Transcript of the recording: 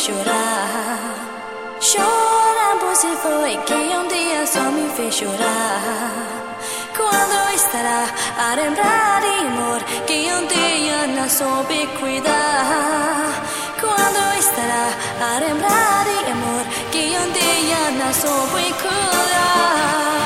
chorar. Chora por si foi que um dia só me fez chorar. Quando estará a lembrar de amor que um dia não soube cuidar? Quando estará a lembrar de amor que um dia não soube cuidar?